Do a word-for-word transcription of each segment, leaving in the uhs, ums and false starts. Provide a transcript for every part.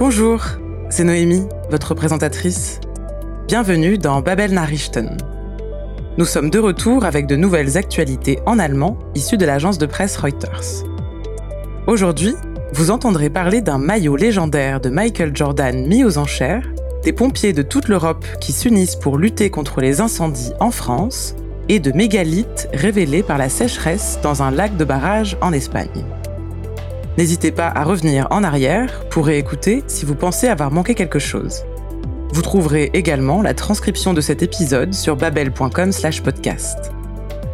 Bonjour, c'est Noémie, votre présentatrice. Bienvenue dans Babel Nachrichten. Nous sommes de retour avec de nouvelles actualités en allemand issues de l'agence de presse Reuters. Aujourd'hui, vous entendrez parler d'un maillot légendaire de Michael Jordan mis aux enchères, des pompiers de toute l'Europe qui s'unissent pour lutter contre les incendies en France et de mégalithes révélés par la sécheresse dans un lac de barrage en Espagne. N'hésitez pas à revenir en arrière pour réécouter si vous pensez avoir manqué quelque chose. Vous trouverez également la transcription de cet épisode sur babel point com slash podcast. Paré ?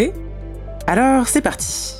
Alors c'est parti.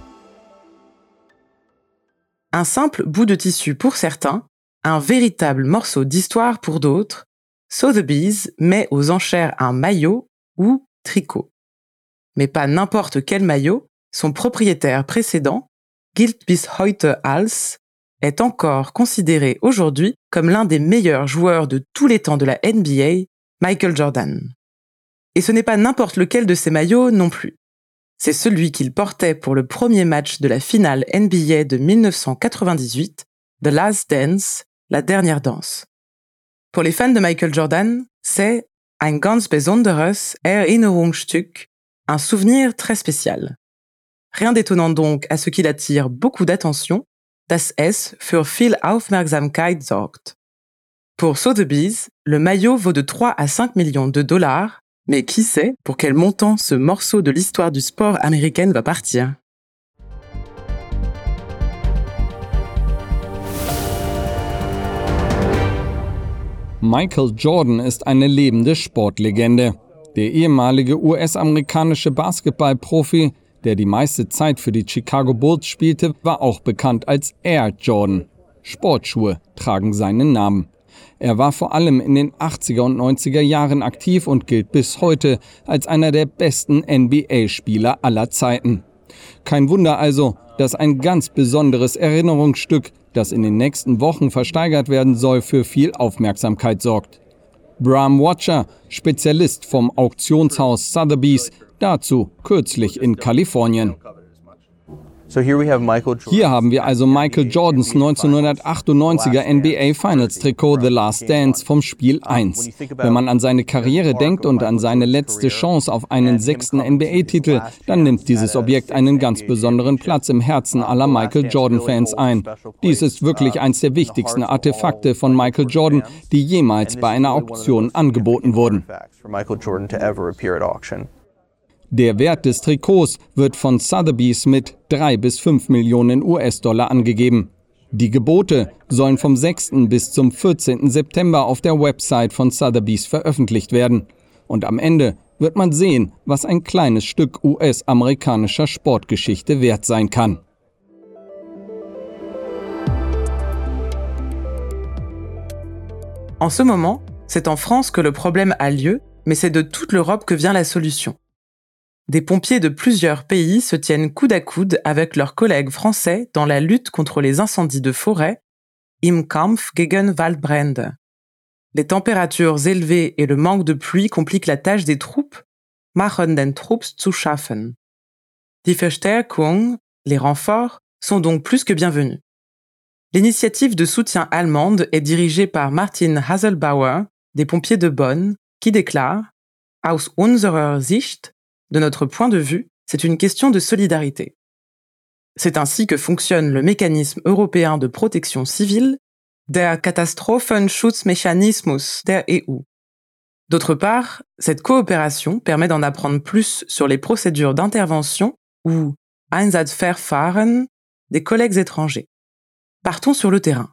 Un simple bout de tissu pour certains, un véritable morceau d'histoire pour d'autres, Sotheby's met aux enchères un maillot ou tricot. Mais pas n'importe quel maillot, son propriétaire précédent, gilt bis heute als, est encore considéré aujourd'hui comme l'un des meilleurs joueurs de tous les temps de la N B A, Michael Jordan. Et ce n'est pas n'importe lequel de ces maillots non plus. C'est celui qu'il portait pour le premier match de la finale N B A de dix-neuf cent quatre-vingt-dix-huit, The Last Dance, la dernière danse. Pour les fans de Michael Jordan, c'est ein ganz besonderes Erinnerungsstück, un souvenir très spécial. Rien d'étonnant donc à ce qu'il attire beaucoup d'attention, dass es für viel Aufmerksamkeit sorgt. Pour Sotheby's, le maillot vaut de trois à cinq millions de dollars, mais qui sait pour quel montant ce morceau de l'histoire du sport américaine va partir. Michael Jordan ist eine lebende Sportlegende. Der ehemalige U S-amerikanische Basketballprofi, der die meiste Zeit für die Chicago Bulls spielte, war auch bekannt als Air Jordan. Sportschuhe tragen seinen Namen. Er war vor allem in den achtziger und neunziger Jahren aktiv und gilt bis heute als einer der besten N B A-Spieler aller Zeiten. Kein Wunder also, dass ein ganz besonderes Erinnerungsstück, das in den nächsten Wochen versteigert werden soll, für viel Aufmerksamkeit sorgt. Bram Watcher, Spezialist vom Auktionshaus Sotheby's, dazu kürzlich in Kalifornien. Hier haben wir also Michael Jordans neunzehnhundertachtundneunziger N B A Finals Trikot The Last Dance vom Spiel eins. Wenn man an seine Karriere denkt und an seine letzte Chance auf einen sechsten N B A-Titel, dann nimmt dieses Objekt einen ganz besonderen Platz im Herzen aller Michael Jordan-Fans ein. Dies ist wirklich eines der wichtigsten Artefakte von Michael Jordan, die jemals bei einer Auktion angeboten wurden. Der Wert des Trikots wird von Sotheby's mit drei bis fünf Millionen U S-Dollar angegeben. Die Gebote sollen vom sechsten bis zum vierzehnten September auf der Website von Sotheby's veröffentlicht werden. Und am Ende wird man sehen, was ein kleines Stück U S-amerikanischer Sportgeschichte wert sein kann. En ce moment, c'est en France que le problème a lieu, mais c'est de toute l'Europe que vient la solution. Des pompiers de plusieurs pays se tiennent coude à coude avec leurs collègues français dans la lutte contre les incendies de forêt, im Kampf gegen Waldbrände. Les températures élevées et le manque de pluie compliquent la tâche des troupes, machen den Trupps zu schaffen. Die Verstärkung, les renforts, sont donc plus que bienvenus. L'initiative de soutien allemande est dirigée par Martin Haselbauer, des pompiers de Bonn, qui déclare « Aus unserer Sicht », de notre point de vue, c'est une question de solidarité. C'est ainsi que fonctionne le mécanisme européen de protection civile, der Katastrophenschutzmechanismus der E U. D'autre part, cette coopération permet d'en apprendre plus sur les procédures d'intervention ou Einsatzverfahren des collègues étrangers. Partons sur le terrain.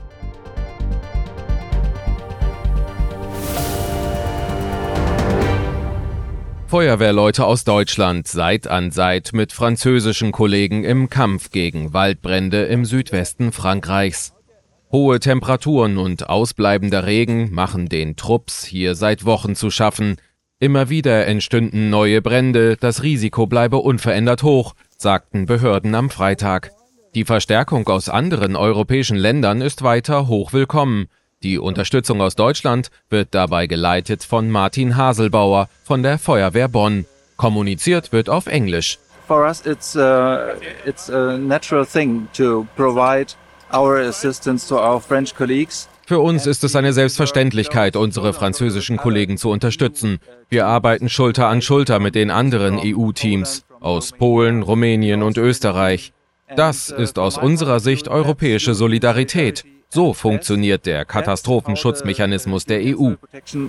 Feuerwehrleute aus Deutschland Seit an Seit mit französischen Kollegen im Kampf gegen Waldbrände im Südwesten Frankreichs. Hohe Temperaturen und ausbleibender Regen machen den Trupps hier seit Wochen zu schaffen. Immer wieder entstünden neue Brände, das Risiko bleibe unverändert hoch, sagten Behörden am Freitag. Die Verstärkung aus anderen europäischen Ländern ist weiter hochwillkommen. Die Unterstützung aus Deutschland wird dabei geleitet von Martin Haselbauer von der Feuerwehr Bonn. Kommuniziert wird auf Englisch. For us it's uh, it's a natural thing to provide our assistance to our French colleagues. Für uns ist es eine Selbstverständlichkeit, unsere französischen Kollegen zu unterstützen. Wir arbeiten Schulter an Schulter mit den anderen E U-Teams aus Polen, Rumänien und Österreich. Das ist aus unserer Sicht europäische Solidarität. So funktioniert der Katastrophenschutzmechanismus der E U.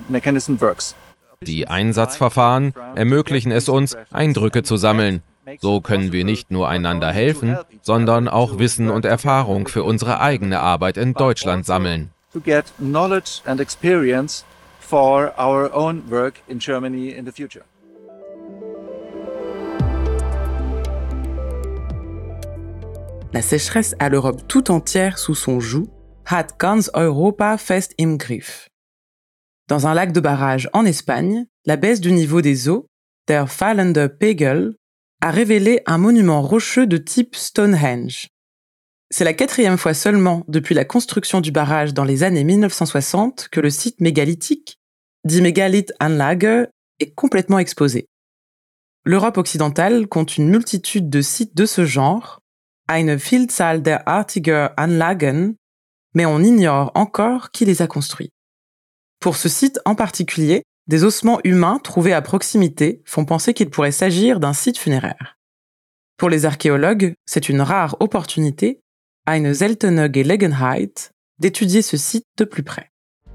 Die Einsatzverfahren ermöglichen es uns, Eindrücke zu sammeln. So können wir nicht nur einander helfen, sondern auch Wissen und Erfahrung für unsere eigene Arbeit in Deutschland sammeln. To get knowledge and experience for our own work in Germany in the future. La sécheresse à l'Europe tout entière sous son joug hat ganz Europa fest im Griff. Dans un lac de barrage en Espagne, la baisse du niveau des eaux, der fallende Pegel, a révélé un monument rocheux de type Stonehenge. C'est la quatrième fois seulement depuis la construction du barrage dans les années mille neuf cent soixante que le site mégalithique, dit Megalithanlage, est complètement exposé. L'Europe occidentale compte une multitude de sites de ce genre, eine Vielzahl derartiger Anlagen, mais on ignore encore qui les a construits. Pour ce site en particulier, des ossements humains trouvés à proximité font penser qu'il pourrait s'agir d'un site funéraire. Pour les archéologues, c'est une rare opportunité, eine seltene Gelegenheit, d'étudier ce site de plus près.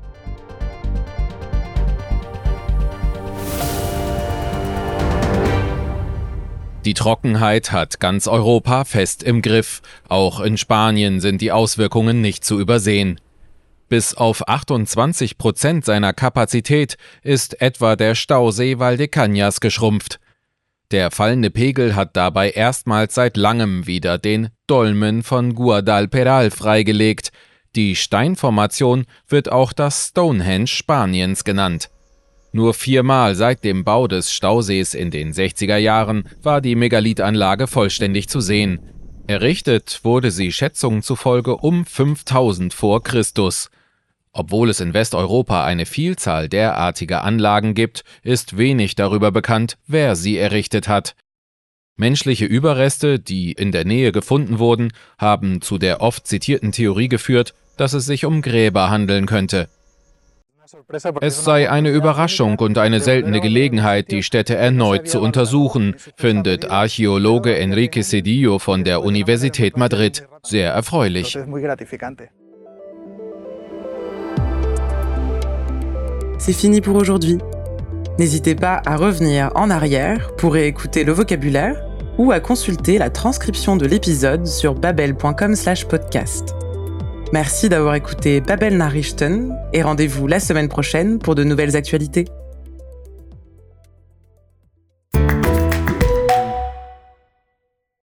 Die Trockenheit hat ganz Europa fest im Griff. Auch in Spanien sind die Auswirkungen nicht zu übersehen. Bis auf achtundzwanzig Prozent seiner Kapazität ist etwa der Stausee Valdecañas geschrumpft. Der fallende Pegel hat dabei erstmals seit langem wieder den Dolmen von Guadalperal freigelegt. Die Steinformation wird auch das Stonehenge Spaniens genannt. Nur viermal seit dem Bau des Stausees in den sechziger Jahren war die Megalithanlage vollständig zu sehen. Errichtet wurde sie Schätzungen zufolge um fünftausend vor Christus. Obwohl es in Westeuropa eine Vielzahl derartiger Anlagen gibt, ist wenig darüber bekannt, wer sie errichtet hat. Menschliche Überreste, die in der Nähe gefunden wurden, haben zu der oft zitierten Theorie geführt, dass es sich um Gräber handeln könnte. Es sei eine Überraschung und eine seltene Gelegenheit, die Stätte erneut zu untersuchen, findet Archäologe Enrique Cedillo von der Universität Madrid sehr erfreulich. C'est fini pour aujourd'hui. N'hésitez pas à revenir en arrière pour réécouter le vocabulaire ou à consulter la transcription de l'épisode sur babel point com slash podcast. Merci d'avoir écouté Babel Nachrichten et rendez-vous la semaine prochaine pour de nouvelles actualités.